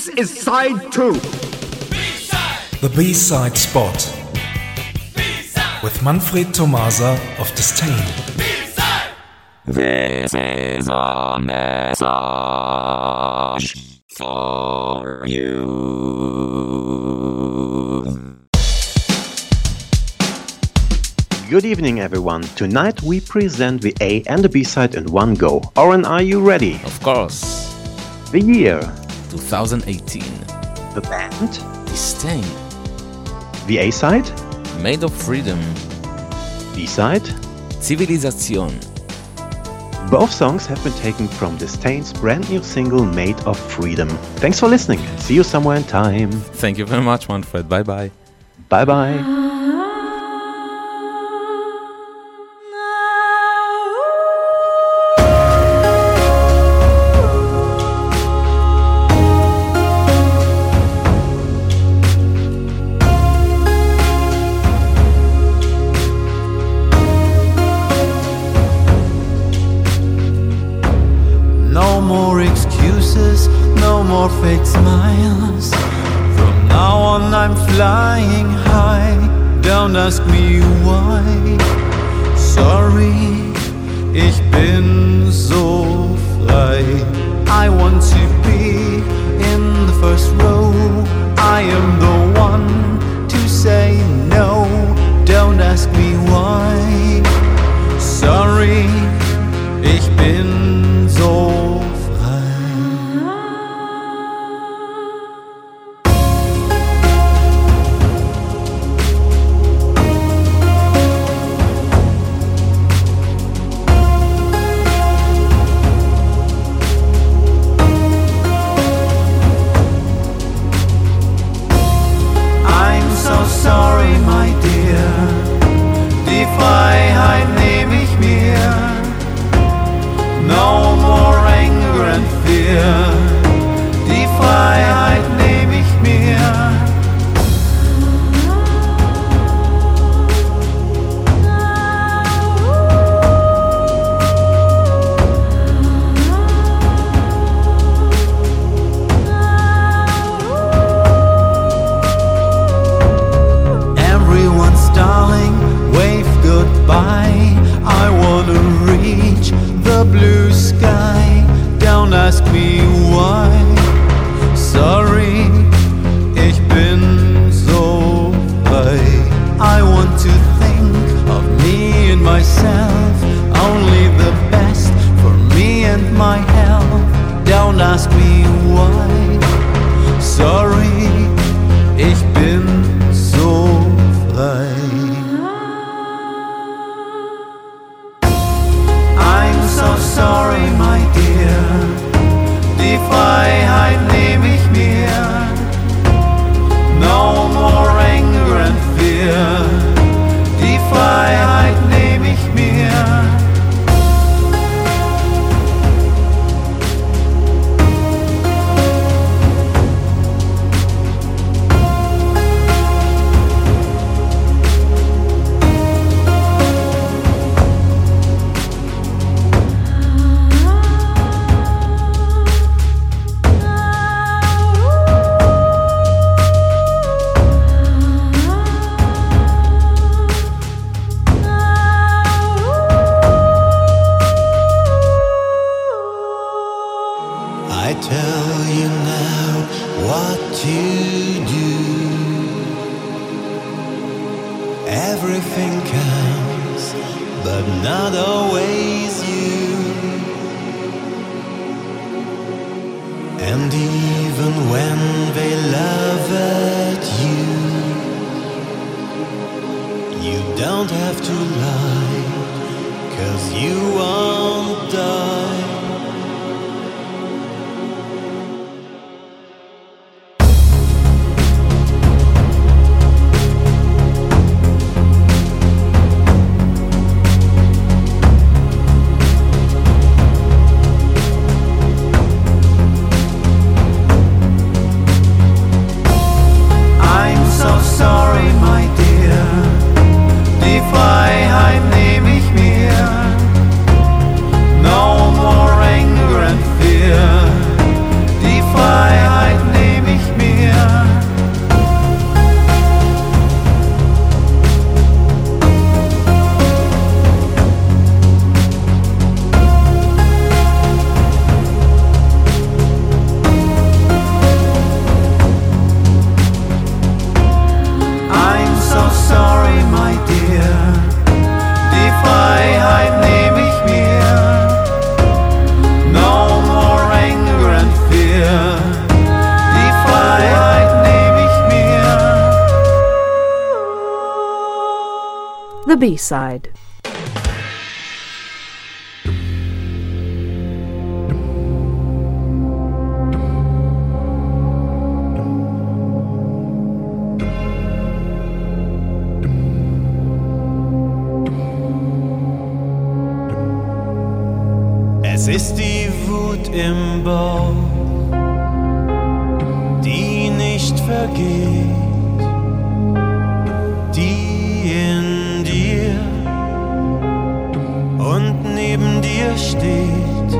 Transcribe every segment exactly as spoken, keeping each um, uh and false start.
This is side two. B-side. The B-side spot. B-side. With Manfred Tomasa of Disdain. B-side. This is a message for you. Good evening, everyone. Tonight we present the A and the B-side in one go. Oren, are you ready? Of course. The year. twenty eighteen. The band. Disdain. The A-side. Made of Freedom. B-side. Zivilisation. Both songs have been taken from Disdain's brand new single Made of Freedom. Thanks for listening and see you somewhere in time. Thank you very much, Manfred. Bye bye. Bye bye. No more excuses, no more fake smiles. From now on I'm flying high. Don't ask me why. Sorry, ich bin so frei. I want to be in the first row. I am the one to say no. Don't ask me why. Sorry, ich bin so sorry, my dear, die Freiheit nehme ich mir. No more anger and fear, die Freiheit nehme ich mir. Darling, wave goodbye. I wanna reach the blue sky. Don't ask me why. Sorry, ich bin so frei. I want to think of me and myself. Only the best for me and my health. Don't ask me why. Sorry, ich bin so frei. So sorry, my dear, die Freiheit nehme ich mir. No more anger and fear, die Freiheit nehme ich mir. I tell you now what to do. Everything counts, but not always you. And even when they laugh at you, you don't have to lie, 'cause you won't die. Sorry, my dear, die Freiheit nehme ich mir. No more The B-Side. Es ist die Wut im Bauch, die nicht vergeht, die in dir und neben dir steht.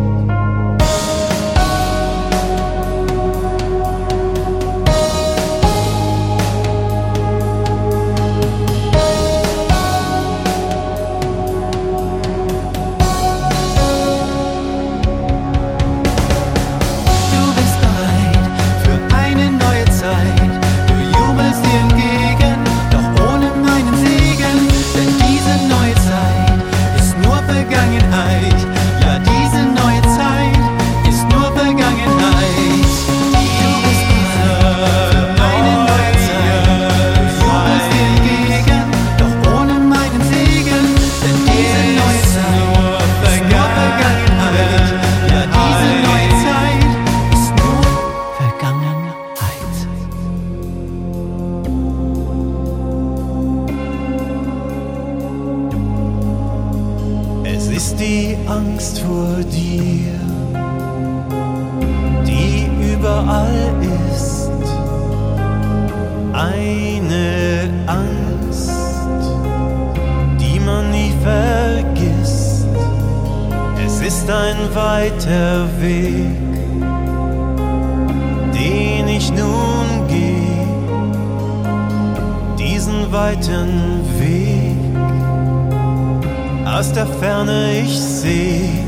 Die Angst vor dir, die überall ist, eine Angst, die man nie vergisst. Es ist ein weiter Weg, den ich nun gehe, diesen weiten Weg. Aus der Ferne ich seh